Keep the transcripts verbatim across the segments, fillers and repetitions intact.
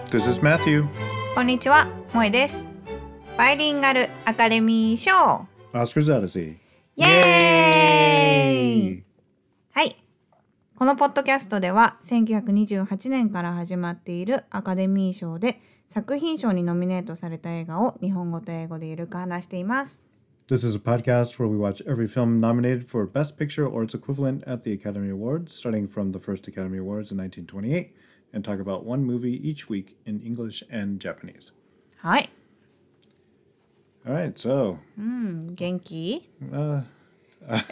This is Matthew. こんにちは、萌えです。バイリンガルアカデミー賞 Oscars Odyssey. イエーイはい。このポッドキャストではせんきゅうひゃくにじゅうはちねんから始まっているアカデミー賞で作品賞にノミネートされた映画を日本語と英語でゆるく話しています。 This is a podcast where we watch every film nominated for Best Picture or its equivalent at the Academy Awards, starting from the first Academy Awards in nineteen twenty-eight, and talk about one movie each week in English and Japanese. はい。 All right, so. うん、元気 Uh, uh,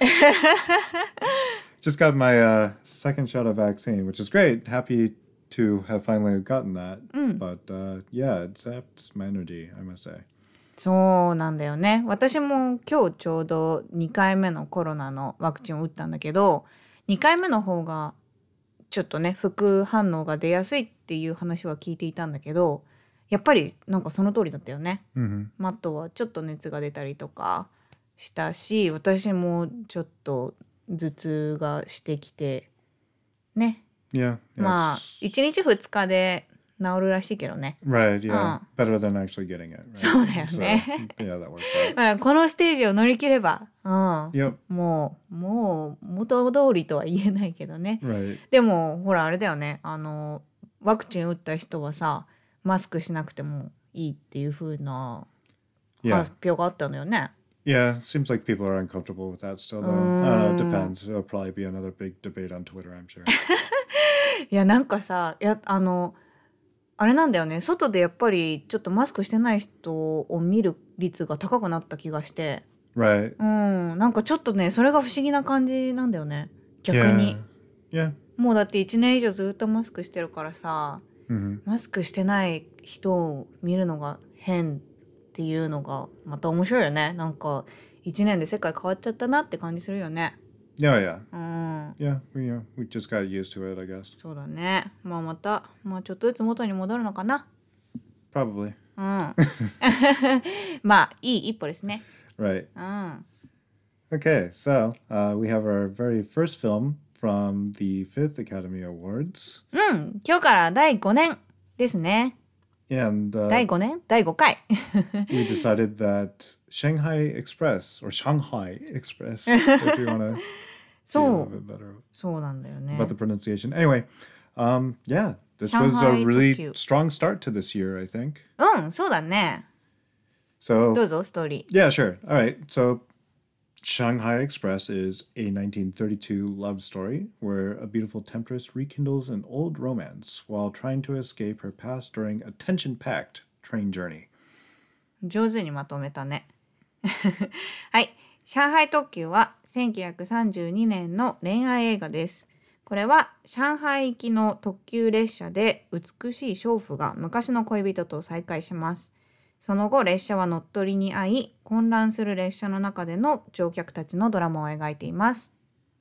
just got my uh, second shot of vaccine, which is great. Happy to have finally gotten that. But uh, yeah, it zapped my energy, I must say. そうなんだよね。私も今日ちょうどにかいめのコロナのワクチンを打ったんだけど、にかいめの方がちょっとね副反応が出やすいっていう話は聞いていたんだけど、やっぱりなんかその通りだったよね。 Mm-hmm. マットはちょっと熱が出たりとかしたし、私もちょっと頭痛がしてきてね。 Yeah. yeah まあ it's- いちにちふつかで治るらしいけどね。 Right, yeah. Uh. Better than actually getting it. Right? そうだよね。 So, yeah, that works out. まあこのステージを乗り切れば、うん、 Yep, もうもう元通りとは言えないけどね。 right. でもほらあれだよね、あのワクチン打った人はさマスクしなくてもいいっていう風な Yeah. 発表があったのよね。 Yeah, seems like people are uncomfortable with that still, though. I don't know, it depends. It'll probably be another big debate on Twitter, I'm sure. いやなんかさ、いやあのあれなんだよね、外でやっぱりちょっとマスクしてない人を見る率が高くなった気がして、 Right. うんなんかちょっとねそれが不思議な感じなんだよね逆に。 Yeah. もうだっていちねん以上ずっとマスクしてるからさ、 Mm-hmm. マスクしてない人を見るのが変っていうのがまた面白いよね。なんかいちねんで世界変わっちゃったなって感じするよね。 Yeah, yeah. うん Yeah, we, uh, we just got used to it, I guess. そうだね。まあまた、まあ、ちょっとずつ元に戻るのかな。 Probably. うんまあいい一歩ですね。 Right. うん Okay, so uh, we have our very first film from the fifth Academy Awards. うん今日からだいごねんですね。 And uh, だいごねんだいごかい we decided that Shanghai Express, or Shanghai Express, if you want to see a そ little う bit better そうなんだよね。 about the pronunciation. Anyway, um, yeah, this was Shanghai a really Tokyo. strong start to this year, I think. うんそうだね。 So, どうぞストーリー。 yeah, sure. All right. So, Shanghai Express is a nineteen thirty-two love story where a beautiful temptress rekindles an old romance while trying to escape her past during a tension-packed train journey. 上手にまとめたねはい、上海特急はせんきゅうひゃくさんじゅうにねんの恋愛映画です。これは上海行きの特急列車で美しい娼婦が昔の恋人と再会します。その後列車は乗っ取りに遭い、混乱する列車の中での乗客たちのドラマを描いています。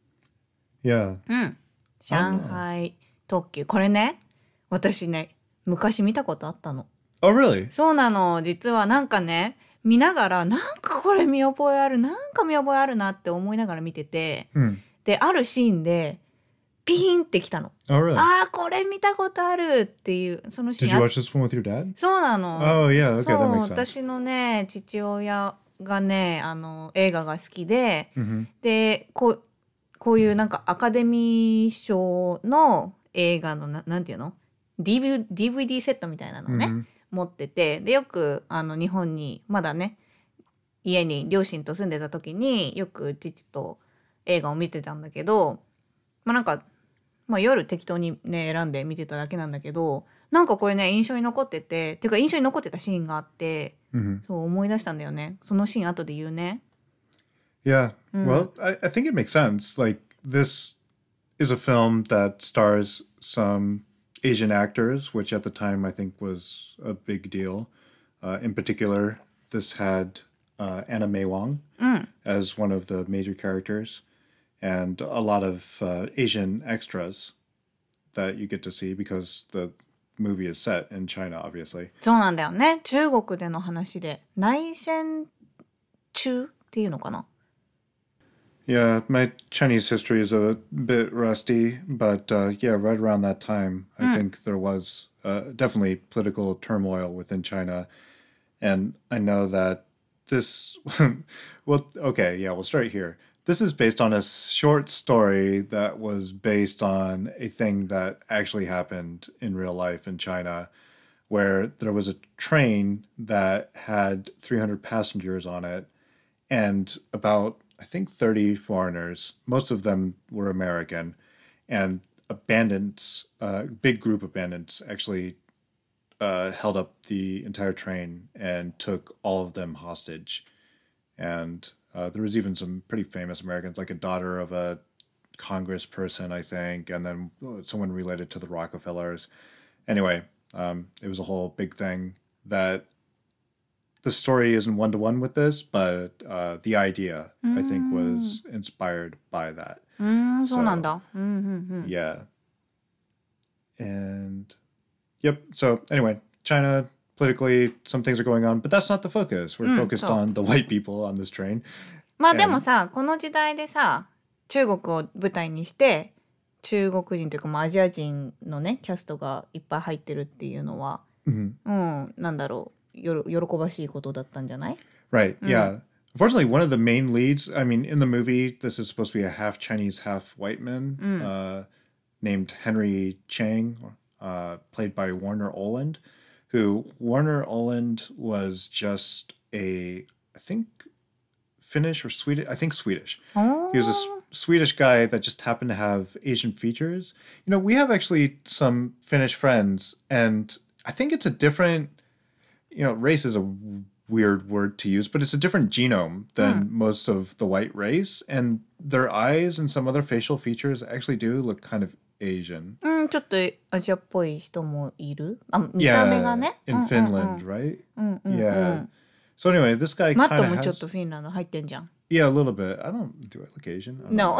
Yeah. うん上海特急、これね私ね昔見たことあったの。 Oh, really? そうなの。実はなんかね見ながらなんかこれ見覚えあるなんか見覚えあるなって思いながら見てて、 Hmm. であるシーンでピーンってきたの。 Oh, really? あーこれ見たことあるっていうそのシ Did ー you ン。 watch this one with your dad? そうなの。 Oh, yeah. Okay, そう that makes sense. 私のね父親がねあの映画が好きで、 Mm-hmm. でこうこういうなんかアカデミー賞の映画のななんていうの ディーブイディー ディーブイディー セットみたいなのをね、 Mhm. 持ってて、でよくあの日本にまだね家に両親と住んでた時によく父と映画を見てたんだけど、まあなんか、まあ、夜適当にね選んで見てただけなんだけど、なんかこれね印象に残ってて、てか印象に残ってたシーンがあって、 Mm-hmm. そう思い出したんだよね。そのシーン後で言うね。 Yeah. Well, I, I think it makes sense. Like, this is a film that stars some Asian actors, which at the time I think was a big deal. Uh, in particular, this had uh, Anna May Wong as one of the major characters, and a lot of uh, Asian extras that you get to see because the movie is set in China, obviously. そうなんだよね。中国での話で内戦中っていうのかな。 Yeah, my Chinese history is a bit rusty, but uh, yeah, right around that time, I think there was uh, definitely political turmoil within China. And I know that this, well, okay, yeah, we'll start here. This is based on a short story that was based on a thing that actually happened in real life in China, where there was a train that had three hundred passengers on it and about, I think, thirty foreigners. Most of them were American. And bandits, a uh, big group of bandits, actually uh, held up the entire train and took all of them hostage. And uh, there was even some pretty famous Americans, like a daughter of a congressperson, I think, and then uh, someone related to the Rockefellers. Anyway, um, it was a whole big thing that the story isn't one to one with this, but uh, the idea, I think, was inspired by that. うーん、そうなん So, だ。うんうんうん。 yeah. And yep. So anyway, China politically, some things are going on, but that's not the focus. We're うん、 focused そう。 on the white people on this train. まあでも And さ、この時代でさ、中国を舞台にして、中国人というか、まあ、アジア人のね、キャストがいっぱい入ってるっていうのは、 mhm. うん、なんだろう、よろ喜ばしいことだったんじゃない？ Right. Yeah. Unfortunately, one of the main leads, I mean, in the movie, this is supposed to be a half Chinese, half white man uh, named Henry Chang, uh, played by Warner Oland, who Warner Oland was just a, I think, Finnish or Swedish, I think Swedish. お He was a S- Swedish guy that just happened to have Asian features. You know, we have actually some Finnish friends, and I think it's a different, you know, race is a weird word to use, but it's a different genome than most of the white race. And their eyes and some other facial features actually do look kind of Asian. うん、ちょっとアジアっぽい人もいる。あ、見た目が Yeah, ね。 in うんうんうん Finland, right? うんうんうん Yeah. So anyway, this guy マッ kind ト of もちょっ has, とフィンランド入ってんじゃん。 yeah, a little bit. I don't, do I look Asian? I don't No. know.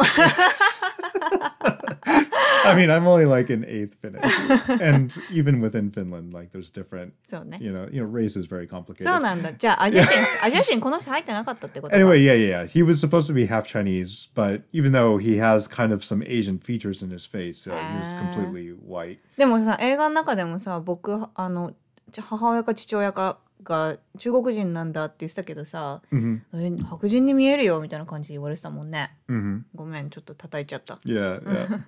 I mean, I'm only like an eighth Finnish, and even within Finland, like there's different, そうね。 you know, you know, race is very そう complicated. なんだ。じゃあアジア人、アジア人この人入ってなかったってことか。 Anyway, yeah, yeah, yeah. He was supposed to be half Chinese, but even though he has kind of some Asian features in his face, uh, he was completely white. でもさ、映画の中でもさ、僕あの母親か父親かが中国人なんだって言ってたけどさ、 hmm え白人に見えるよみたいな感じで言われてたもんね。 hmm ごめん、ちょっと叩いちゃった。 Yeah, yeah.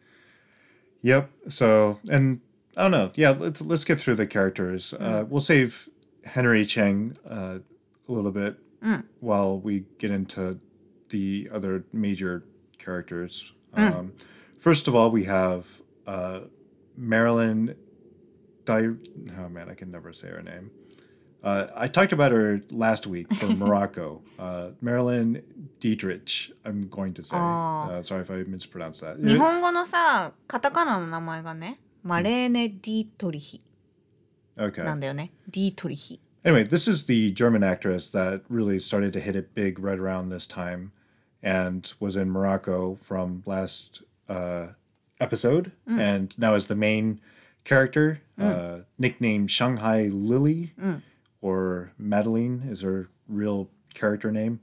Yep. So, and I don't know. Yeah, let's let's get through the characters. Uh, we'll save Henry Cheng uh, a little bit while we get into the other major characters. Um, first of all, we have uh, Marilyn. Di- oh man, I can never say her name. Uh, I talked about her last week for Morocco. Uh, Marilyn Dietrich, I'm going to say. Uh, sorry if I mispronounced that. 日本語のさ、カタカナの名前がね、マレーネ・ディートリヒ Okay. なんだよね。ディートリヒ。 Anyway, this is the German actress that really started to hit it big right around this time and was in Morocco from last uh, episode and now is the main character, uh, nicknamed Shanghai Lily or Madeline is her real character name.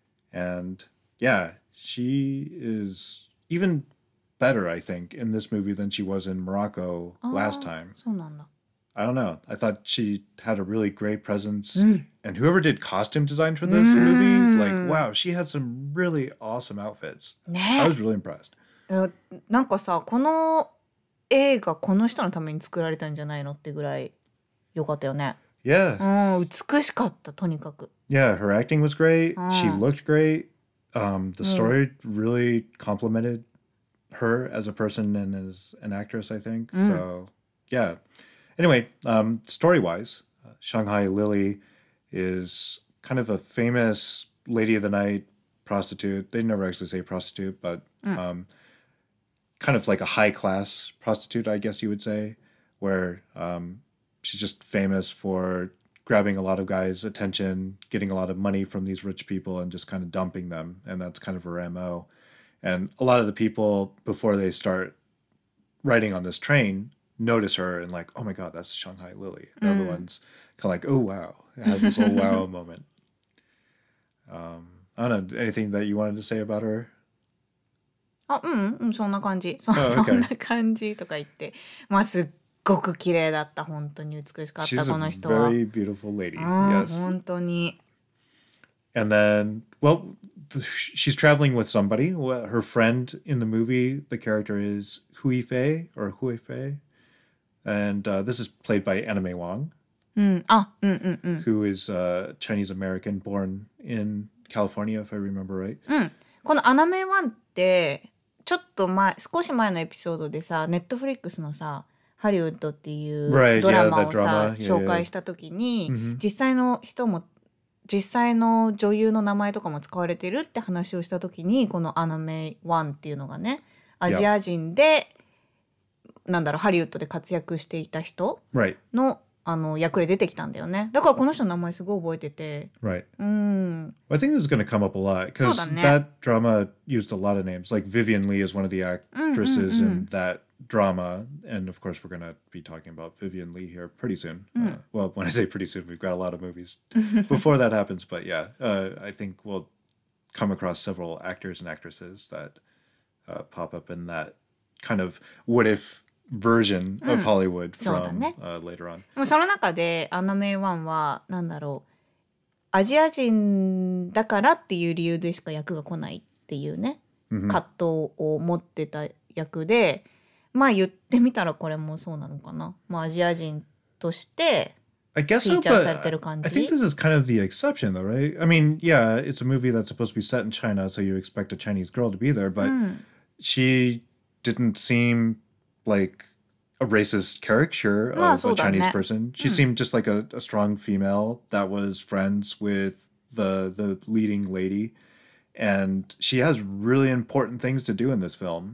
And yeah, she is even better, I think, in this movie than she was in Morocco last time. そうなんだ。 I don't know. I thought she had a really great presence. And whoever did costume design for this movie, like, wow, she had some really awesome outfits. ね I was really impressed. えなんかさ、この映画この人のために作られたんじゃないのってぐらい良かったよね。 Yeah. うん、美しかったとにかく。 Yeah, her acting was great. She looked great. Um, the story really complimented her as a person and as an actress, I think. So, yeah. Anyway, um, story-wise, uh, Shanghai Lily is kind of a famous lady of the night prostitute. They never actually say prostitute, but um, kind of like a high-class prostitute, I guess you would say, where um, she's just famous for grabbing a lot of guys' attention, getting a lot of money from these rich people and just kind of dumping them. And that's kind of her M O. And a lot of the people, before they start riding on this train, notice her and like, oh my God, that's Shanghai Lily. And everyone's kind of like, oh, wow. It has this whole wow moment. Um, I I don't know, anything that you wanted to say about her? あ、うん、うん、そんな感じ。そ, Oh, okay. そんな感じとか言って。まあ、すっごく綺麗だった。本当に美しかった、この人は。 She's a very beautiful lady. うん、 Yes. 本当に。 And then, well, she's traveling with somebody. Her friend in the movie, the character is Hui Fei or Hui Fei. And uh, this is played by Anna May Wong, うん、あ、うんうんうん。 who is uh, Chinese American born in California, if I remember right. うん。このアナメイワンって、ちょっと前、少し前のエピソードでさ、ネットフリックスのさ、ハリウッドっていう Right, ドラ yeah, マ that をさ、 drama. Yeah, 紹介 yeah. した時に、 Mhm. 実際の人も、実際の女優の名前とかも使われてるって話をした時に、このアナメイワンっていうのがね、アジア人で、なんだろう、ハリウッドで活躍していた人 Right, の、あの役で出てきたんだよね。だからこの人の名前すごい覚えてて。 right. うん。 I think this is going to come up a lot because そうだね。 that drama used a lot of names. Like Vivian Lee is one of the actresses in that drama. And of course, we're going to be talking about Vivian Lee here pretty soon. Uh, well, when I say pretty soon, we've got a lot of movies before that happens. But yeah, uh, I think we'll come across several actors and actresses that uh, pop up in that kind of what if version of Hollywood そうだ from ね。 uh, later on. でもその中でアナメイワンはなんだろう、アジア人だからっていう理由でしか役が来ないっていうね、葛藤を持ってた役で、まあ言ってみたらこれもそうなのかな。まあアジア人として I guess フィ so, ーチャー but されてる感 I じ。 think this is kind of the exception, though, right? I mean, yeah, it's a movie that's supposed to be set in China, so you expect a Chinese girl to be there, but she didn't seem like a racist caricature Ah, of so a Chinese that- person. She seemed just like a, a strong female that was friends with the the leading lady, and she has really important things to do in this film.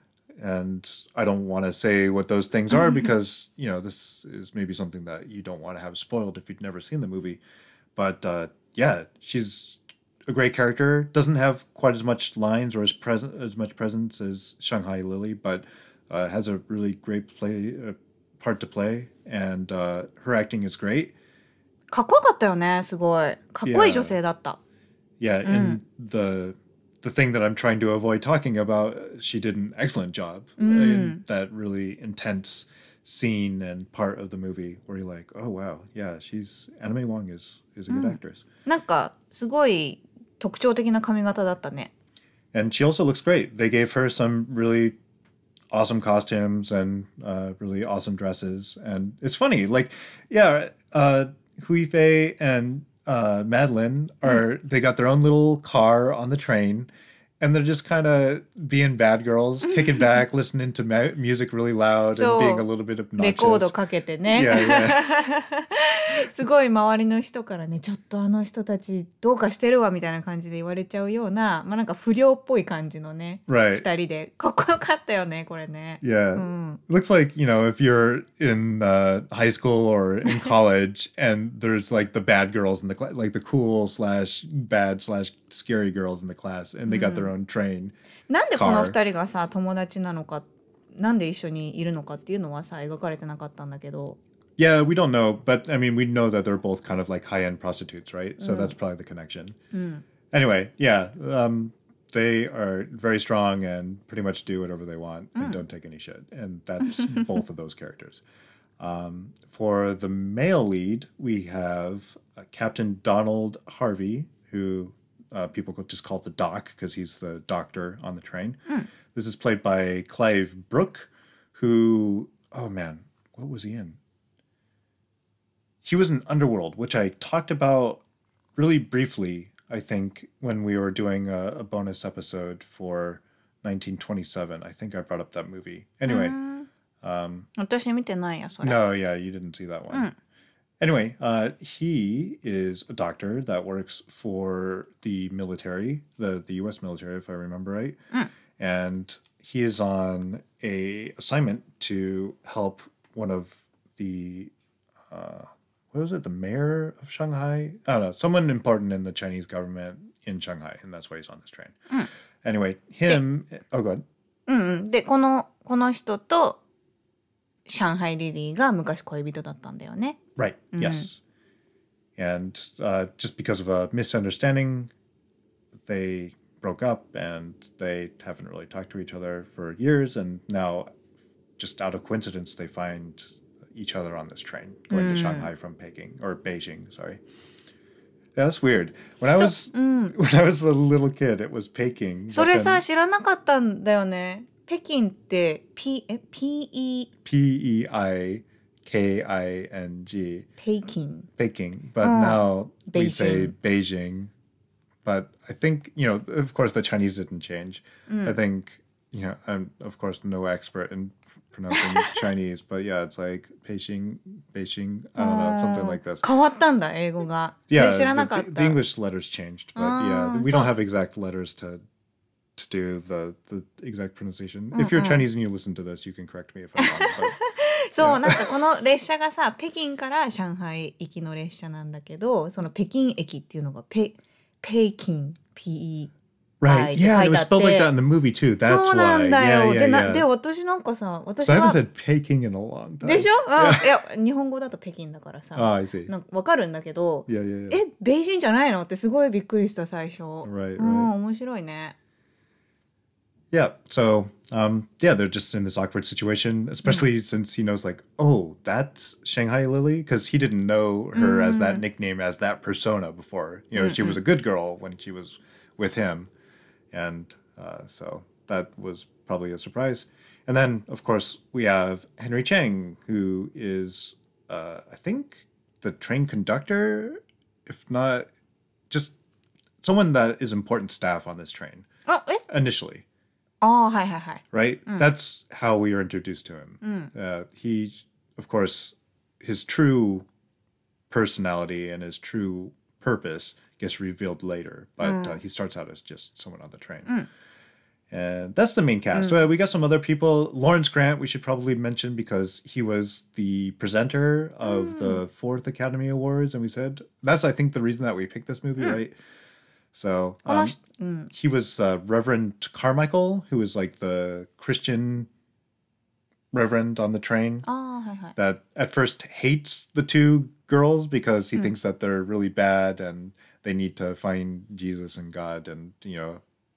And I don't want to say what those things are because, you know, this is maybe something that you don't want to have spoiled if you've never seen the movie. But uh, yeah, she's a great character. Doesn't have quite as much lines or as present as much presence as Shanghai Lily, but uh, has a really great play uh, part to play, and uh, her acting is great. かっこよかったよね、すごい。かっこいい女性だった。 Yeah, and the the thing that I'm trying to avoid talking about, she did an excellent job in that really intense scene and part of the movie where you're like, oh wow, yeah, she's Anna May Wong is is a good actress. なんかすごい特徴的な髪型だったね。 And she also looks great. They gave her some really awesome costumes and uh, really awesome dresses. And it's funny, like, yeah, uh, Hui Fei and uh, Madeline are, they got their own little car on the train. And they're just kind of being bad girls, kicking back, listening to ma- music really loud So, and being a little bit obnoxious. レコードかけてね。 Yeah, yeah. すごい周りの人からね、ちょっとあの人たちどうかしてるわみたいな感じで言われちゃうような、まあなんか不良っぽい感じのね、 Right. 二人でかっこよかったよね、これね。 Yeah. Looks like, you know, if you're in uh, high school or in college and there's like the bad girls in the class, like the cool slash bad slash scary girls in the class, and they got their own train. なんでこの二人がさ、友達なのか、なんで一緒にいるのかっていうのはさ、描かれてなかったんだけど。 Yeah, we don't know, but I mean, we know that they're both kind of like high-end prostitutes, right? So that's probably the connection. Anyway, yeah, um, they are very strong and pretty much do whatever they want and don't take any shit. And that's both of those characters. Um, for the male lead, we have uh, Captain Donald Harvey, who uh, people could just call the Doc because he's the doctor on the train. This is played by Clive Brooke, who, oh man, what was he in? He was in Underworld, which I talked about really briefly, I think, when we were doing a, a bonus episode for nineteen twenty-seven. I think I brought up that movie. Anyway. 私見てないや、それ。 No, yeah, you didn't see that one. Anyway, uh, he is a doctor that works for the military, the, the U S military, if I remember right. And he is on a assignment to help one of the... Uh, what was it? The mayor of Shanghai? I don't know. Someone important in the Chinese government in Shanghai, and that's why he's on this train. Anyway, him... Oh, go ahead. うん、でこのこの人と上海リリーが昔恋人だったんだよね。 Right, yes. And uh, just because of a misunderstanding, they broke up and they haven't really talked to each other for years, and now just out of coincidence they find each other on this train going to Shanghai from Peking or Beijing, sorry. Yeah, that's weird. When I was when I was a little kid, it was Peking. それ but さ then 知らなかったんだよね。北京って P え P E P E I K I N G 北京 Peking, but now we say Beijing. Beijing. But I think, you know, of course the Chinese didn't change. I think, you know, I'm of course no expert in pronouncing Chinese, but yeah, it's like Beijing, Beijing, I don't know, something like this. 変わったんだ英語が。そ Yeah, れ知らなかっ the, た。 the English letters changed, but yeah, we don't have exact letters to to do the the exact pronunciation. If you're Chinese and you listen to this, you can correct me if I'm wrong. But そうなんかこの列車がさ北京から上海行きの列車なんだけど、その北京駅っていうのがペ北京 P E right, yeah, it was spelled like that in the movie too. That's そうな why. んだ Yeah, よ。 yeah, でな yeah. で私なんかさ私 So I は haven't said Peking in a long time. でしょ、うん、いや日本語だと北京だからさ Oh, I see. なんか分かるんだけど、 Yeah, yeah, yeah. えベイジンじゃないのってすごいびっくりした最初。 Right, うん right. 面白いね。 Yeah, so um, yeah, they're just in this awkward situation, especially since he knows, like, oh, that's Shanghai Lily, because he didn't know her as that nickname, as that persona before. You know, she was a good girl when she was with him, and uh, so that was probably a surprise. And then, of course, we have Henry Chang, who is, uh, I think, the train conductor, if not, just someone that is important staff on this train あえ initially. あはいはいはい。 Right? That's how we are introduced to him. Uh, he, of course, his true personality and his true purpose gets revealed later, but uh, he starts out as just someone on the train. And that's the main cast. Uh, we got some other people. Lawrence Grant, we should probably mention because he was the presenter of the fourth Academy Awards, and we said that's, I think, the reason that we picked this movie, right? So um, he was uh, Reverend Carmichael, who was like the Christian reverend on the train あはいはい。 that at first hates the two girls because he thinks that they're really bad and they need to find Jesus and God and, you know,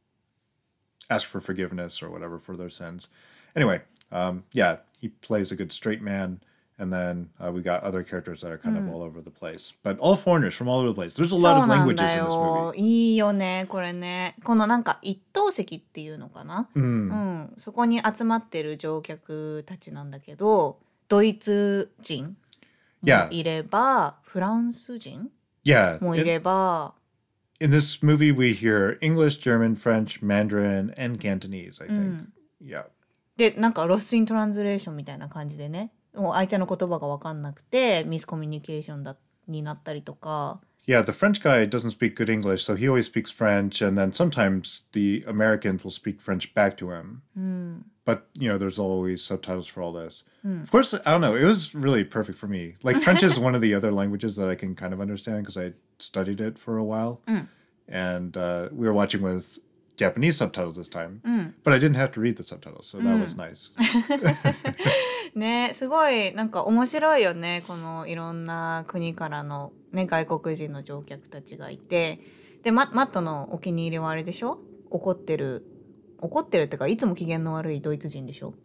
ask for forgiveness or whatever for their sins. Anyway, um, yeah, he plays a good straight man. And then uh, we got other characters that are kind of all over the place. But all foreigners from all over the place. There's a そ lot う of なん languages だ in this よ。 movie. いいよねこれね。このなんか一等席っていうのかな、うんそこに集まってる乗客たちなんだけど、ドイツ人も Yeah. いれば、フランス人 Yeah. もい In, れば、 in this movie, we hear English, German, French, Mandarin, and Cantonese, I think. Yeah. でなんかロスイントランスレーションみたいな感じでね、もう相手の言葉が分かんなくてミスコミュニケーションだになったりとか。 Yeah, the French guy doesn't speak good English, so he always speaks French, and then sometimes the Americans will speak French back to him. But, you know, there's always subtitles for all this. Of course, I don't know, it was really perfect for me. Like, French is one of the other languages that I can kind of understand because I studied it for a while. And uh, we were watching with Japanese subtitles this time, but I didn't have to read the subtitles, so that was nice. ねすごいなんか面白いよね。このいろんな国からの、ね、外国人の乗客たちがいて、で マ, マットのお気に入りはあれでしょ、怒ってる怒ってるってかいつも機嫌の悪いドイツ人でしょ。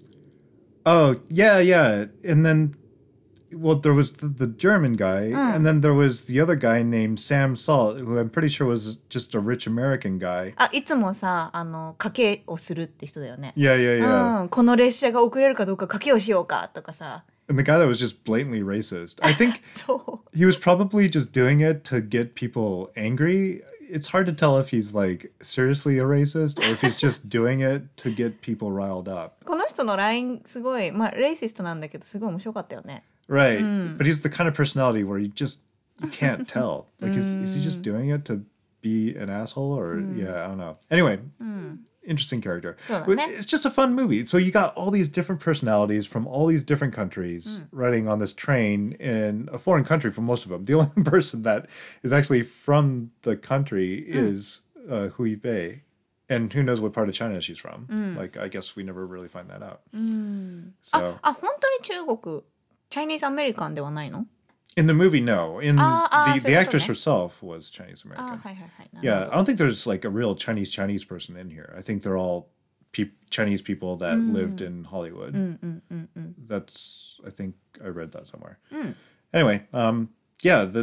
Oh, yeah, yeah. And then, well, there was the, the German guy, and then there was the other guy named Sam Salt, who I'm pretty sure was just a rich American guy. あいつもさあの賭けをするって人だよね。 Yeah, yeah, yeah. うん、この列車が遅れるかどうか賭けをしようかとかさ。 And the guy that was just blatantly racist. I think そう he was probably just doing it to get people angry. It's hard to tell if he's like seriously a racist or if he's just doing it to get people riled up. この人のラインすごいまあレイシストなんだけどすごい面白かったよね。 Right. But he's the kind of personality where you just you can't tell. Like is is he just doing it to be an asshole or yeah, I don't know. Anyway, interesting character. そうだね。 It's just a fun movie. So you got all these different personalities from all these different countries riding on this train in a foreign country for most of them. The only person that is actually from the country is uh, Hui Bei. And who knows what part of China she's from. Like, I guess we never really find that out. So, あ本当に中国チャイニーズアメリカンではないの？ In the movie, no. In あーあー、 the そういう the ことね。 actress herself was Chinese あー、 American. はいはいはい。なるほ Yeah, ど。 I don't think there's like a real Chinese Chinese person in here. I think they're all pe- Chinese people that lived in Hollywood. うんうんうんうん。 That's I think I read that somewhere. うん Anyway, um, yeah, the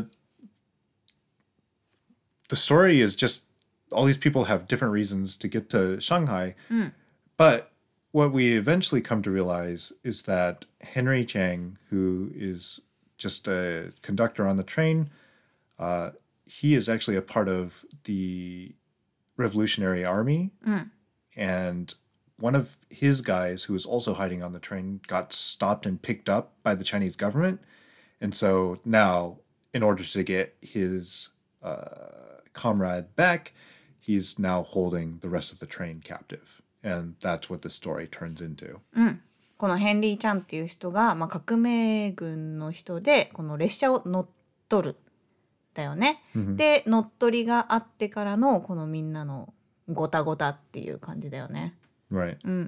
the story is just all these people have different reasons to get to Shanghai, うん but what we eventually come to realize is that Henry Chang, who is just a conductor on the train, uh, he is actually a part of the Revolutionary Army, うん and one of his guys who was also hiding on the train got stopped and picked up by the Chinese government. And so now, in order to get his uh, comrade back, he's now holding the rest of the train captive. And that's what the story turns into. うん、このヘンリー・チャンっていう人が、まあ、革命軍の人でこの列車を乗っ取るだよね、で乗っ取りがあってからのこのみんなのごたごたっていう感じだよね。 Right. うんうん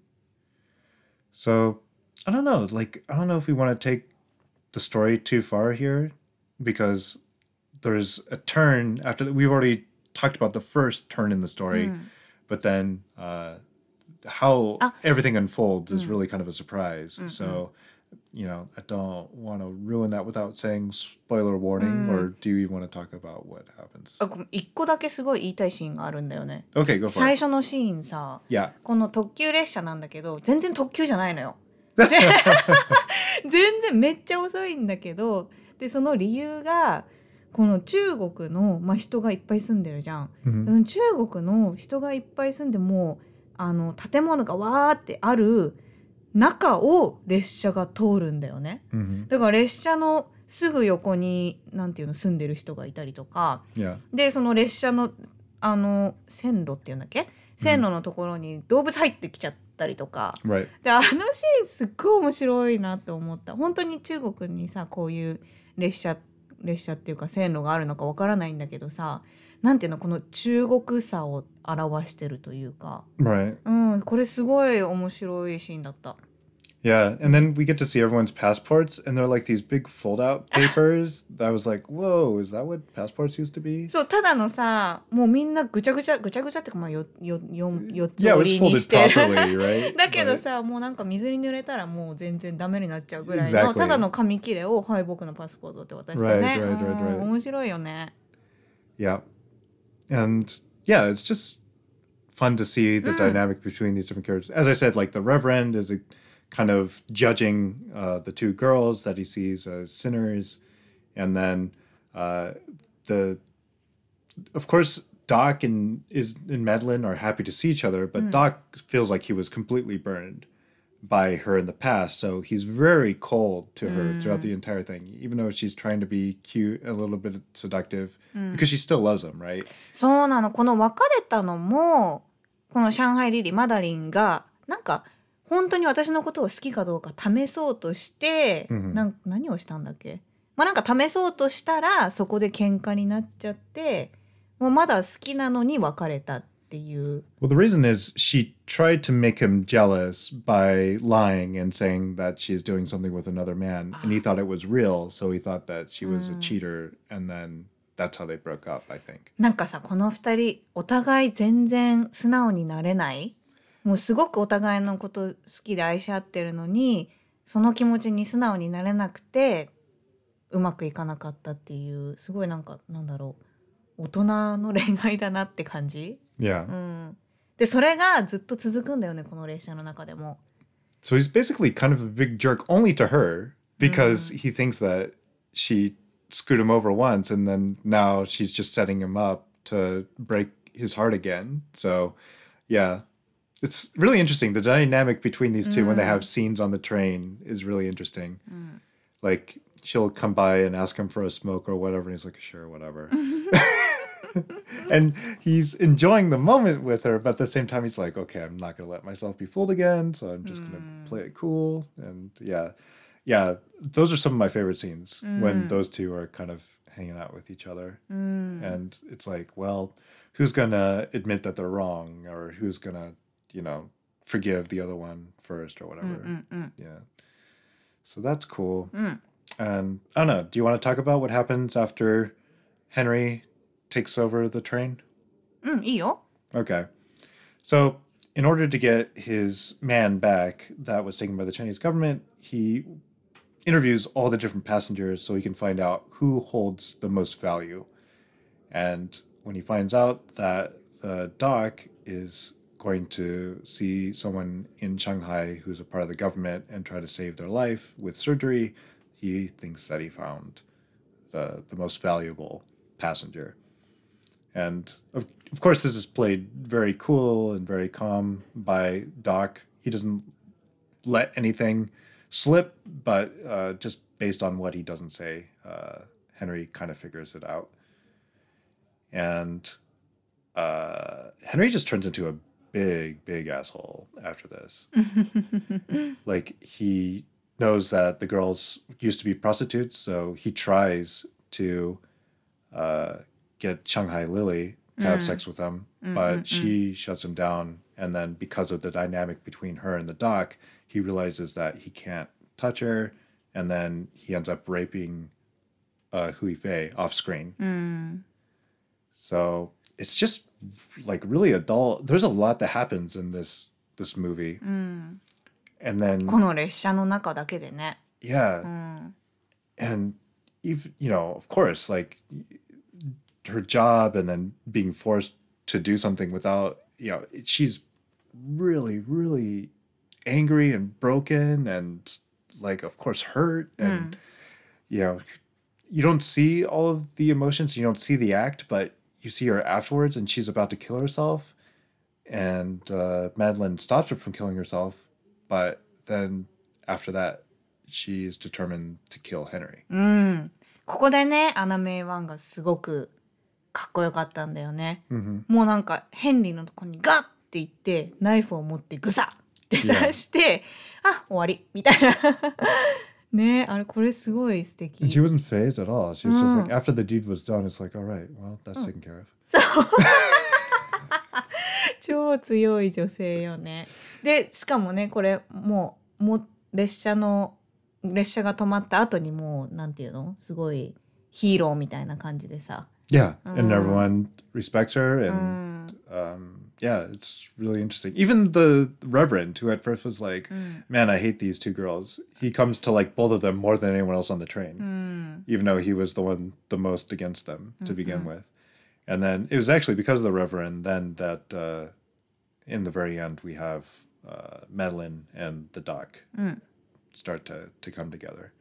So, I don't know. Like, I don't know if we want to take the story too far here because there's a turn after that. We've already talked about the first turn in the story, but then uh, how everything unfolds is really kind of a surprise. So, you know, I don't want to ruin that without saying spoiler warning, or do you even want to talk about what happens? あ、ごめん、一個だけすごい言いたいシーンがあるんだよね。 Okay, go for 最 it. 初のシーンさ、 Yeah. この特急列車なんだけど全然特急じゃないのよ。全然めっちゃ遅いんだけど、でその理由がこの中国の、まあ、人がいっぱい住んでるじゃん、 Mhm. 中国の人がいっぱい住んでもあの建物がわーってある中を列車が通るんだよね、 Mhm. だから列車のすぐ横になんていうの住んでる人がいたりとか Yeah. でその列車のあの線路っていうんだっけ、線路のところに動物入ってきちゃったりとか、 Right. であのシーンすっごい面白いなって思った。本当に中国にさこういう列車列車っていうか線路があるのかわからないんだけどさ、なんていうのこの中国さを表してるというか、 Right. うんこれすごい面白いシーンだった。 Yeah, and then we get to see everyone's passports, and they're like these big fold-out papers. I was like, "Whoa, is that what passports used to be?" そうただのさもうみんなぐちゃぐちゃぐちゃぐちゃってかまあよよよ四つ Yeah, it 折 was りに folded して properly, right? だけど But- さもうなんか水に濡れたらもう全然ダメになっちゃうぐらいの Exactly. ただの紙切れをはい僕のパスポートって渡してね、 Right, right, right, うん right. 面白いよね。 Yeah. And yeah, it's just fun to see the dynamic between these different characters. As I said, like the Reverend is a kind of judging uh, the two girls that he sees as sinners. And then uh, the, of course, Doc and is and Madeline are happy to see each other, but Doc feels like he was completely burned by her in the past. So he's very cold to her throughout the entire thing, even though she's trying to be cute, a little bit seductive, because she still loves him, right? そうなの。この別れたのもこの上海リリーマダリンがなんか本当に私のことを好きかどうか試そうとして、 うんなん何をしたんだっけ、まあ、なんか試そうとしたらそこで喧嘩になっちゃってもうまだ好きなのに別れたっていう。 Well, the reason is she tried to make him jealous by lying and saying that she's doing something with another man, and he thought it was real, so he thought that she was a cheater, and then that's how they broke up, I think. なんかさこの二人お互い全然素直になれない、もうすごくお互いのこと好きで愛し合ってるのにその気持ちに素直になれなくてうまくいかなかったっていうすごいなんかなんだろう大人の恋愛だなって感じ、 Yeah. うん、でそれがずっと続くんだよねこの列車の中でも。 So he's basically kind of a big jerk only to her because he thinks that she screwed him over once, and then now she's just setting him up to break his heart again. So, yeah. It's really interesting. The dynamic between these two when they have scenes on the train is really interesting. Like, she'll come by and ask him for a smoke or whatever, and he's like, sure, whatever. And he's enjoying the moment with her, but at the same time, he's like, okay, I'm not going to let myself be fooled again, so I'm just going to play it cool. And yeah, yeah, those are some of my favorite scenes when those two are kind of hanging out with each other. And it's like, well, who's going to admit that they're wrong, or who's going to, you know, forgive the other one first or whatever. Yeah. So that's cool. And I don't know, do you want to talk about what happens after Henry takes over the train? うん、いいよ。 Okay. So, in order to get his man back that was taken by the Chinese government, he interviews all the different passengers so he can find out who holds the most value. And when he finds out that the doc is going to see someone in Shanghai who's a part of the government and try to save their life with surgery, he thinks that he found the, the most valuable passenger. And of, of course, this is played very cool and very calm by Doc. He doesn't let anything slip, but uh, just based on what he doesn't say, uh, Henry kind of figures it out. And uh, Henry just turns into a big, big asshole after this. Like, he knows that the girls used to be prostitutes, so he tries to uh, get Shanghai Lily to have sex with him, but she shuts him down. And then because of the dynamic between her and the doc, he realizes that he can't touch her, and then he ends up raping uh, Hui Fei off screen. Mm. So it's just like really adult. There's a lot that happens in this this movie. Mm. And then この列車の中だけでね。 yeah, うん。 and even you know, of course, like her job and then being forced to do something without, you know, she's really, really angry and broken and like, of course, hurt. And, you know, you don't see all of the emotions, you don't see the act, but you see her afterwards and she's about to kill herself. And uh, Madeline stops her from killing herself. But then after that, she is determined to kill Henry. うん。ここでね、アナメイワンがすごくかっこよかったんだよね。 Mm-hmm. もうなんかヘンリーのとこにガッっていってナイフを持ってグサッって刺して、あ、終わりみたいな。ね、あれこれすごい素敵。 And she wasn't phased at all. She was just like, after the deed was done, it's like, all right, well, that's taken care of. そう超強い女性よね。でしかもねこれもうもう列車の列車が止まった後にもうなんていうのすごいヒーローみたいな感じでさ。 Yeah, and everyone respects her, and um, yeah, it's really interesting. Even the Reverend, who at first was like, "Man, I hate these two girls," he comes to like both of them more than anyone else on the train, even though he was the one the most against them to begin with. And then it was actually because of the Reverend then that uh, in the very end we have uh, Madeline and the Doc start to to come together.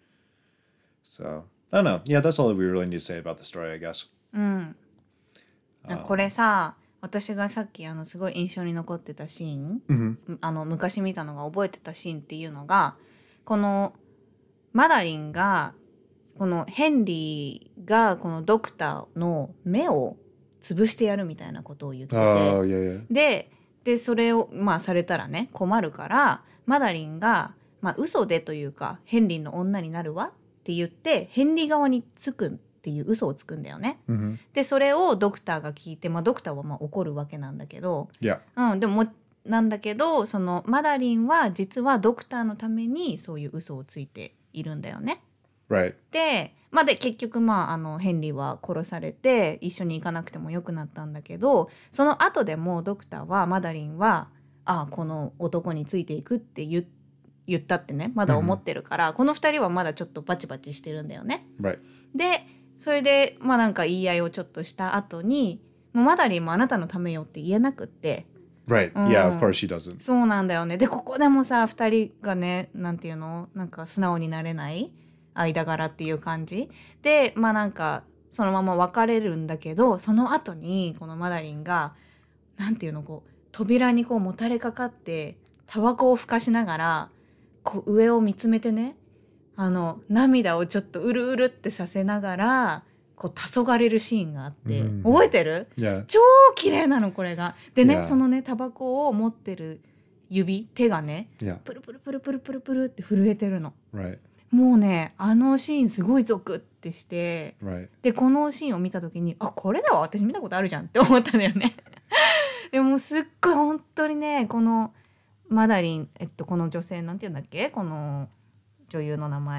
So I don't know. Yeah, that's all that we really need to say about the story, I guess. うん、これさ私がさっきあのすごい印象に残ってたシーン、 Mm-hmm. あの昔見たのが覚えてたシーンっていうのがこのマダリンがこのヘンリーがこのドクターの目を潰してやるみたいなことを言ってて、 Oh, yeah, yeah. で, でそれをまあされたらね困るからマダリンが、まあ、嘘でというかヘンリーの女になるわって言ってヘンリー側につくっていう嘘をつくんだよね。 Mm-hmm. でそれをドクターが聞いて、まあ、ドクターはまあ怒るわけなんだけど、 Yeah. うん、でもなんだけどそのマダリンは実はドクターのためにそういう嘘をついているんだよね。 Right. で、まあ、で結局、まあ、あのヘンリーは殺されて一緒に行かなくてもよくなったんだけどその後でもドクターはマダリンはあこの男についていくって言言ったってねまだ思ってるから、このふたりはまだちょっとバチバチしてるんだよね。 Right. でそれでまあなんか言い合いをちょっとした後にもうマダリンもあなたのためよって言えなくって、 Right. Yeah, of course she doesn't. そうなんだよね。でここでもさふたりがねなんていうのなんか素直になれない間柄っていう感じでまあなんかそのまま別れるんだけどその後にこのマダリンがなんていうのこう扉にこうもたれかかってタバコをふかしながらこう上を見つめてねあの涙をちょっとうるうるってさせながらこう黄昏るシーンがあって、 うん覚えてる？ Yeah. 超綺麗なのこれが。でね、 Yeah. そのねタバコを持ってる指手がね Yeah. プルプルプルプルプルプルって震えてるの。 Right. もうねあのシーンすごいゾクってして Right. でこのシーンを見た時にあこれだわ私見たことあるじゃんって思ったんだよね。でもすっごい本当にねこのマダリン、えっと、この女性なんて言うんだっけこの女優の名前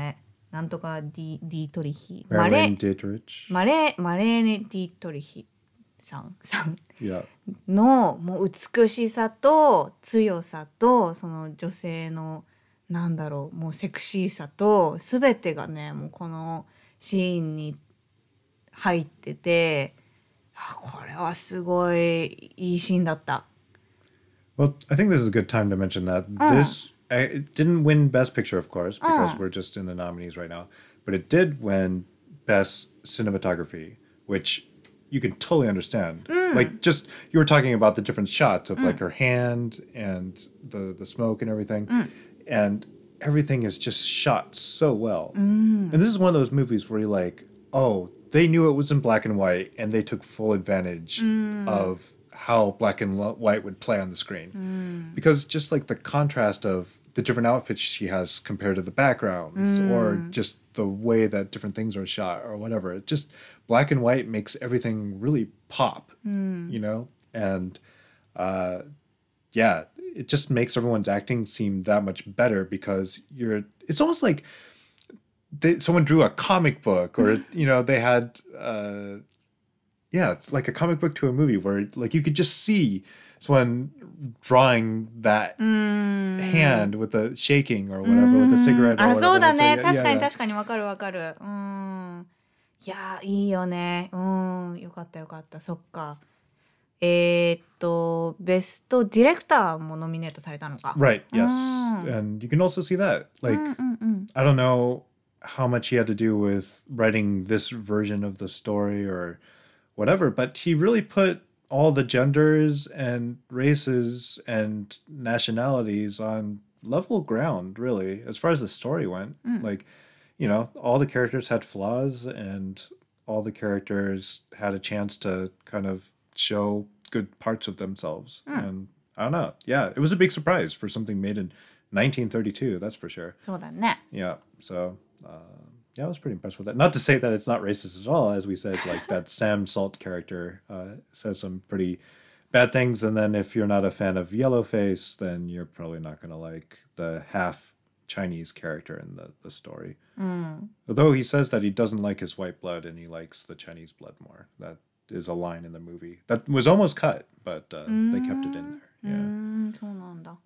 なんとかディ・ディートリヒ。 マレーン・ディートリヒ。 マレーマレーネ・ディートリヒさんさん Yeah. のもう美しさと強さとその女性のなんだろうもうセクシーさと全てがねもうこのシーンに入ってて、あこれはすごいいいシーンだった。 Well, I think this is a good time to mention that this I, it didn't win Best Picture, of course, because we're just in the nominees right now. But it did win Best Cinematography, which you can totally understand. Like, just you were talking about the different shots of like her hand and the the smoke and everything, and everything is just shot so well. And this is one of those movies where you're like, oh, they knew it was in black and white, and they took full advantage of how black and lo- white would play on the screen. Because just like the contrast of the different outfits she has compared to the backgrounds, or just the way that different things are shot, or whatever. It just black and white makes everything really pop, you know? And uh, yeah, it just makes everyone's acting seem that much better because you're. It's almost like they, someone drew a comic book, or you know, they had. Uh, yeah, it's like a comic book to a movie where like you could just see someone drawing that hand with the shaking or whatever with the cigarette or あ whatever. そうだ It's ね like, 確か yeah, に yeah. 確かにわかるわかる。うんいやいいよね。うんよかったよかったそっか。えー、っとベストディレクターもノミネートされたのか。 Right, yes. And you can also see that. Like, I don't know how much he had to do with writing this version of the story or whatever, but he really put all the genders and races and nationalities on level ground, really, as far as the story went. Like, you know, all the characters had flaws and all the characters had a chance to kind of show good parts of themselves. And I don't know. Yeah, it was a big surprise for something made in nineteen thirty-two, that's for sure. そうだね。 Yeah, so uh, yeah, I was pretty impressed with that. Not to say that it's not racist at all, as we said, like that Sam Salt character uh, says some pretty bad things, and then if you're not a fan of Yellowface, then you're probably not going to like the half Chinese character in the, the story. Although he says that he doesn't like his white blood and he likes the Chinese blood more. That is a line in the movie that was almost cut, but uh, they kept it in there. う Yeah. んそうなんだ。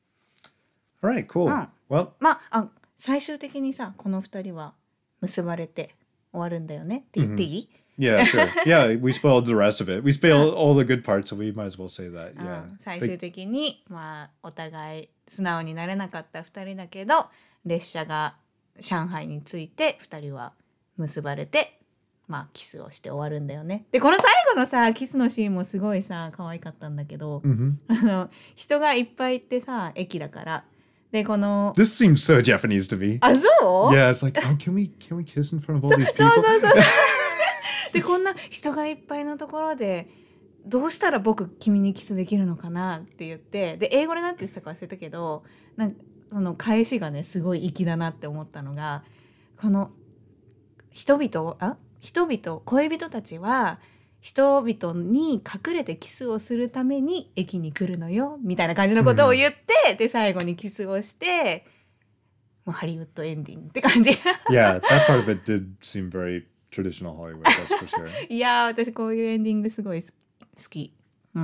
All right, cool. Well, まああ最終的にさこの二人は結ばれて終わるんだよねって言っていい？ yeah, sure. Yeah, we spoiled the rest of it. We spoiled all the good parts, so we might as well say that. Yeah. うん最終的に、まあ、お互い素直になれなかったふたりだけど列車が上海に着いてふたりは結ばれて、まあ、キスをして終わるんだよね。でこの最後のさキスのシーンもすごいさ可愛かったんだけど、あの人がいっぱいいてさ駅だからでこの This seems so Japanese to me. あそう Yeah, it's like, oh, can we can we kiss in front of all these そう people? そうそうそうでこんな人がいっぱいのところでどうしたら僕君にキスできるのかなって言ってで英語でなんて言ってたか忘れたけどなんかその返しがねすごい粋だなって思ったのがこの人々あ人々恋人たちは人々に隠れてキスをするために駅に来るのよみたいな感じのことを言って、で最後にキスをしてもうハリウッドエンディングって感じ Yeah, that part of it did seem very traditional Hollywood, that's for sure. いやー私こういうエンディングすごい好き。うん。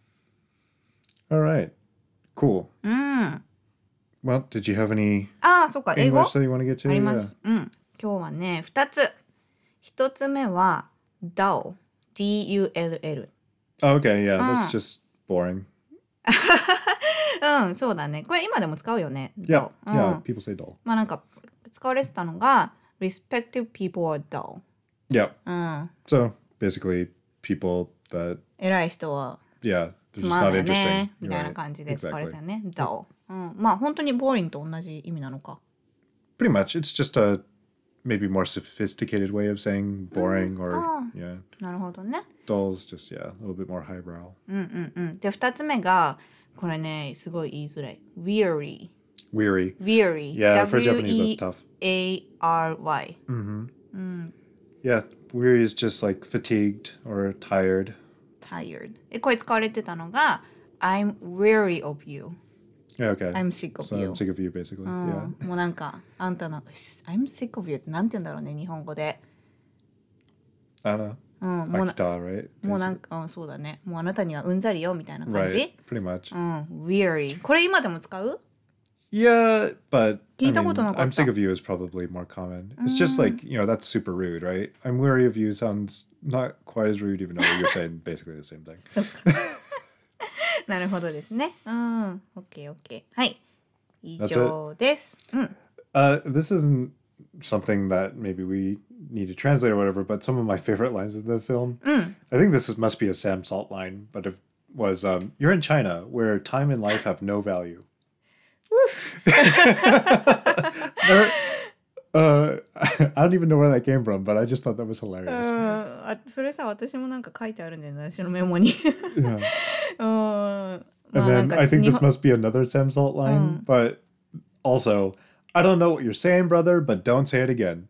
All right, cool. うん。 Well, did you have any ああ、そっか、英語 English that you want to get to? ありま Yeah. す。うん。今日はね、ふたつ。ひとつめは Dull。ディーユーエルエル。 Oh, okay, yeah, that's just boring. うん、そうだね。これ今でも使うよね。 Yeah, dull。 yeah, うん。 people say dull. まあなんか使われてたのが Respective people are dull。 Yeah. うん。 So basically, people that 偉い人は yeah, they're つ just まん not ない interesting. ね。みたいな Right. 感じで使われてた Exactly. よね。dull。うん。まあ本当にボーリンと同じ意味なのか。 Pretty much, it's just a maybe more sophisticated way of saying boring or Ah. yeah. なるほどね。 Dull is just yeah, a little bit more highbrow. うんうんうん。で、二つ目が、これね、すごい言いづらい。weary。 Weary. weary。 Yeah, for Japanese, that's tough. W E A R Y。 Yeah, weary is just like fatigued or tired. tired。で、これ使われてたのが、I'm weary of you。 Yeah, okay. I'm sick of so you. I'm sick of you, basically. うん Yeah. もうなんかあんたの I'm sick of you ってなんて言うんだろうね日本語で I don't know. うんもうな Akita, right? もうなんか、うん、そうだねもうあなたにはうんざりよみたいな感じ Right. Pretty much. うん weary これ今でも使う Yeah, but I 聞いた mean, ことなかった I'm sick of you is probably more common. It's just like, you know, that's super rude, right? I'm weary of you sounds not quite as rude, even though you're saying basically the same thing. そっかなるほどですねうん OKOK はい以上ですうん Uh, this isn't something that maybe we need to translate or whatever, but some of my favorite lines of the film, I think this is, must be a Sam Salt line, but it was, um, you're in China where time and life have no value. There, uh, I don't even know where that came from, but I just thought that was うん hilarious. あそれさ私もなんか書いてあるんだよね私のメモに Yeah. うんま And あなん then か I think 日 this 本 must be another Sam Salt line, but also, I don't know what you're saying, brother, but don't say it again.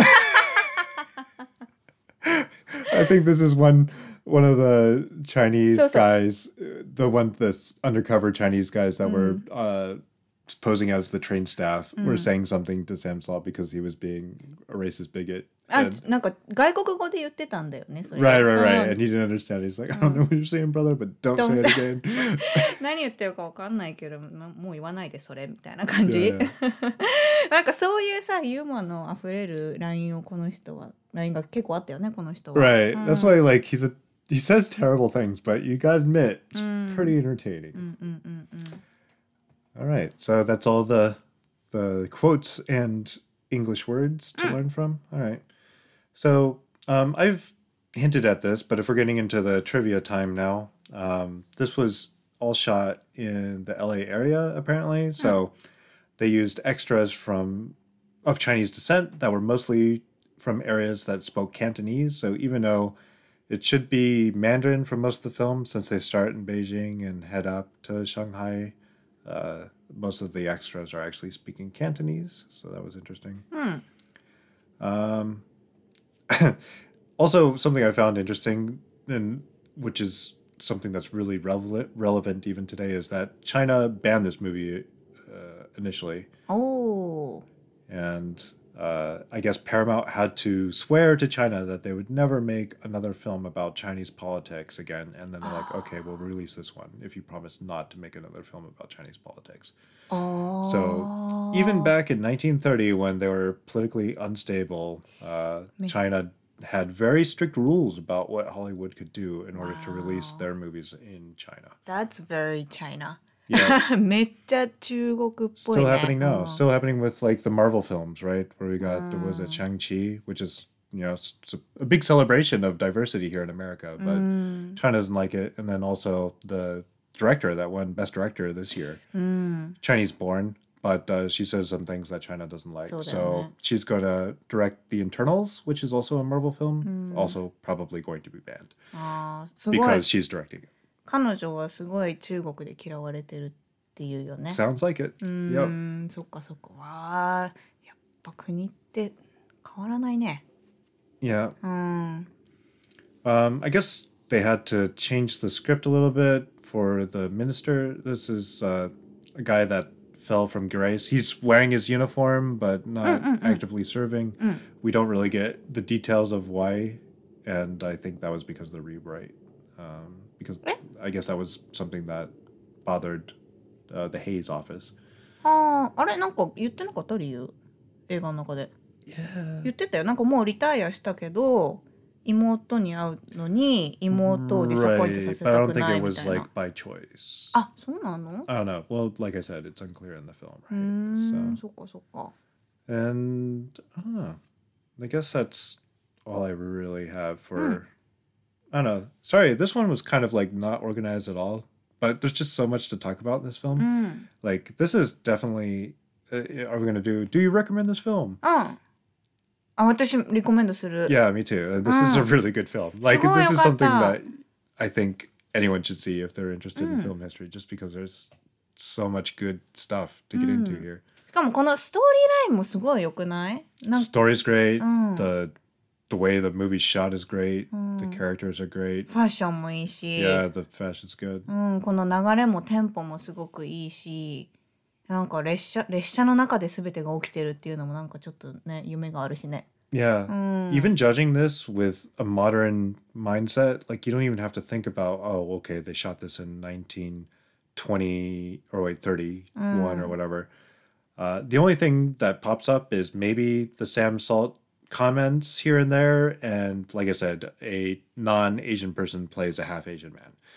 I think this is one one of the Chinese So- so- guys, uh, the one that's undercover Chinese guys that were uh, posing as the train staff were saying something to Sam Salt because he was being a racist bigot. あ And- なんか外国語で言ってたんだよねそれ right, right, う right. ん And he didn't understand. He's like, I don't know what you're saying, brother, but don't, Don't say it say- again. 何言ってるか分かんないけどまもう言わないでそれみたいな感じ Yeah, なんかそういうさユーモアのあふれるラインをこの人はラインが結構あったよねこの人は Right. うん That's why, like, he's a he says terrible things, but you gotta admit, it's pretty entertaining. うんうんうんうん All right. So that's all the the quotes and English words to learn from. All right. So um, I've hinted at this, but if we're getting into the trivia time now, um, this was all shot in the L A area apparently. So they used extras from of Chinese descent that were mostly from areas that spoke Cantonese. So even though it should be Mandarin for most of the film, since they start in Beijing and head up to Shanghai, uh, most of the extras are actually speaking Cantonese. So that was interesting. Um, also, something I found interesting, and which is something that's really relevant, relevant even today, is that China banned this movie uh, initially. おー And uh, I guess Paramount had to swear to China that they would never make another film about Chinese politics again. And then they're like, okay, we'll release this one if you promise not to make another film about Chinese politics. あー So even back in nineteen thirty, when they were politically unstable, uh, China had very strict rules about what Hollywood could do in order to release their movies in China. That's very China Yeah. めっちゃ中国っぽい Still ね happening now. うん Still happening with like the Marvel films, right? Where we got, there was a Shang-Chi, which is, you know, it's, it's a, a big celebration of diversity here in America, but China doesn't like it. And then also the director that won Best Director this year, Chinese born, but uh, she says some things that China doesn't like. So So, then, she's going to direct The Internals, which is also a Marvel film, also probably going to be banned あーすごい because she's directing it. 彼女はすごい中国で嫌われてるっていうよね Sounds like it. う Yep. ーんそっかそっかわーやっぱ国って変わらないね Yeah. うん Um, I guess they had to change the script a little bit for the minister. This is uh, a guy that fell from grace. He's wearing his uniform, but not actively serving. We don't really get the details of why, and I think that was because of the rewrite. Um, because I guess that was something that bothered uh, the Hayes office. あーあれなんか言ってなかった理由映画の中で Yeah. 言ってたよなんかもうリタイアしたけど妹に会うのに妹をディサポイントさ Right, せ but I た don't く think ない it み was たいな like by choice. あそうなの I don't know. Well, like I said, it's unclear in the film, うー right? ん So. そっかそっか And I don't know. I guess that's all I really have for. I don't know. Sorry, this one was kind of like not organized at all. But there's just so much to talk about in this film. うん Like this is definitely. Uh, are we gonna do? Do you recommend this film? うんあ私リコメンドする Yeah, me too. Uh, This is a really good film. Like Sugoi this is something yokatta. that I think anyone should see if they're interested in film history, just because there's so much good stuff to get into here. しかもこのストーリーラインもすごい良くないなんか Story's great. Mm. The the way the movie's shot is great. The characters are great. ファッションもいいし、 Yeah, the fashion's good. うん、この流れもテンポもすごくいいし、なんか列車列車の中で全てが起きてるっていうのもなんかちょっとね夢があるしね。 Yeah. Even judging this with a modern mindset, like you don't even have to think about, oh, okay, they shot this in nineteen twenty or wait, thirty-one or whatever. Uh, the only thing that pops up is maybe the Sam Salt comments here and there. And like I said, a non-Asian person plays a half Asian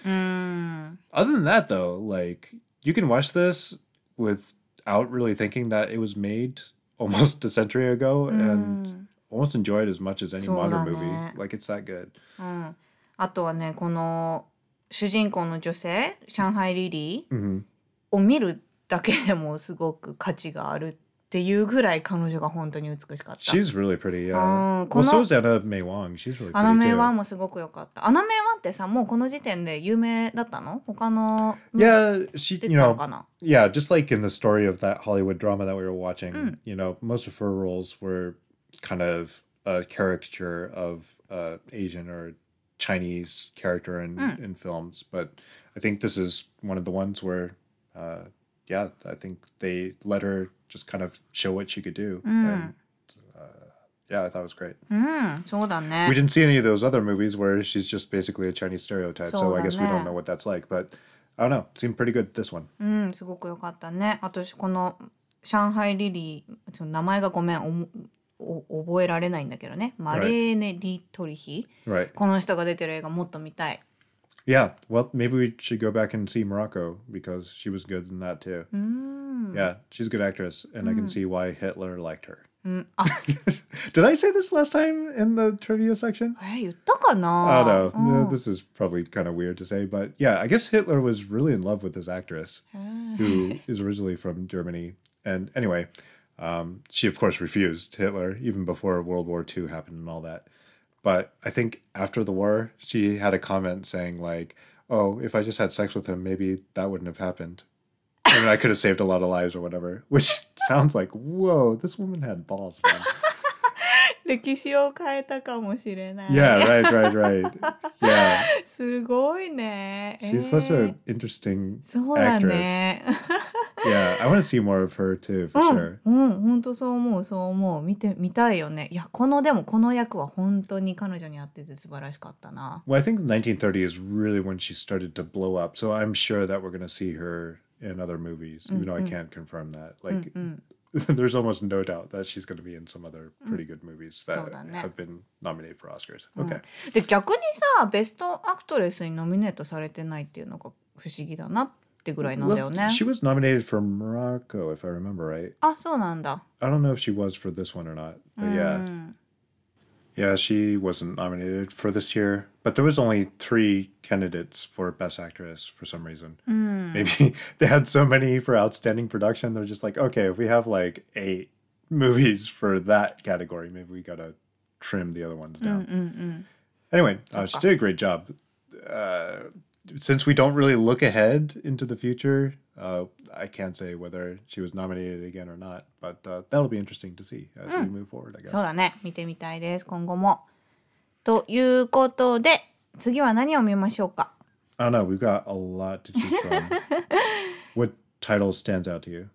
man. Other than that, though, like you can watch this without really thinking that it was made almost a century ago and almost enjoy it as much as any そうだ modern ね。 movie. Like it's that good. うん、あとはねこの主人公の女性上海リリー hmm を見るだけでもすごく価値があるっていうぐらい彼女が本当に美しかった。 She's really pretty, yeah. うん、 Well, こ so の is Anna May Wong. She's really アナ pretty メイワ too. ンもすごく良かった。アナメイワンってさもうこの時点で有名だったの？他の Yeah, she, 出 you てたの know, かな？ yeah, just like in the story of that Hollywood drama that we were watching, you know, most of her roles were kind of a caricature of uh, Asian or Chinese character in, in films. But I think this is one of the ones where, uh, yeah, I think they let her just kind of show what she could do. And uh, yeah, I thought it was great. うんそうだね。 We didn't see any of those other movies where she's just basically a Chinese stereotype. So, So I guess we then- don't know what that's like. But I don't know. It seemed pretty good, this one. うんすごく良かったね。あとこの上海リリーその名前がごめんおもお覚えられないんだけどね。マレーネ・ディトリヒ、 Right. この人が出てる映画もっと見たい。 Yeah, well, maybe we should go back and see Morocco because she was good in that too. Yeah, she's a good actress, and I can see why Hitler liked her. うんあ Did I say this last time in the trivia section? え言ったか I な？ don't know. うん No, this is probably kind of weird to say, but yeah, I guess Hitler was really in love with this actress who is originally from Germany. And anyway, um, she of course refused Hitler even before World War Two happened and all that. But I think after the war, she had a comment saying like, "Oh, if I just had sex with him, maybe that wouldn't have happened. And I could have saved a lot of lives or whatever." Which sounds like, whoa, this woman had balls, man. 歴史を変えたかもしれない。 Yeah, right, right, right. Yeah. すごいね。 She's え such ー an interesting そうだ actress. ね。 Yeah, I want to see more of her too, for うん sure. うん本当そう思うそう思う見てみたいよね。いやこのでもこの役は本当に彼女に合ってて素晴らしかったな。 Well, I think nineteen thirty is really when she started to blow up. So I'm sure that we're going to see her in other movies, even though I can't confirm that. Like, there's almost no doubt that she's going to be in some other pretty good movies that そうだね。 have been nominated for Oscars. Okay. で逆にさベストアクトレスにノミネートされてないっていうのが不思議だなってぐらいなんだよ Well, ね。 she was nominated for Morocco, if I remember right. あそうなんだ。 I don't know if she was for this one or not, but yeah. Yeah, she wasn't nominated for this year, but there was only three candidates for Best Actress for some reason. Maybe they had so many for Outstanding Production, they're just like, okay, if we have like eight movies for that category, maybe we gotta trim the other ones down. Anyway, uh, she did a great job. Uh, since we don't really look ahead into the future, uh, I can't say whether she was nominated again or not, but uh, that'll be interesting to see as we move forward, I guess. そうだね見てみたいです今後も。ということで次は何を見ましょうか。 I don't know. We've got a lot to choose from. What title stands out to you?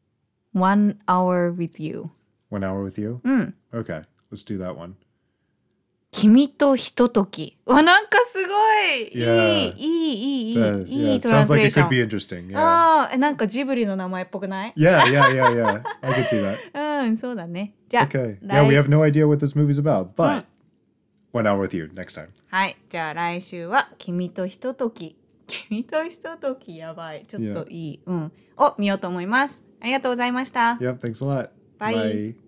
One hour with you. One Hour with You? Okay, let's do that one. 君とひととき。わなんかすごい。 Yeah. いいいいいいい Uh, いい yeah, い it トラン sounds スレ like ー it ショ could ン。 be interesting. Yeah. ああなんかジブリの名前っぽくない？ Yeah, yeah, yeah, yeah. I could see that. うんそうだね。じゃあ、 Okay. 来 Yeah, we have no idea what this movie's about, but One Hour with You next time. はいじゃあ来週は君とひととき。君とひとときやばい。ちょっといい。うん。を見ようと思います。ありがとうございました。 Yep, thanks a lot. Bye. Bye.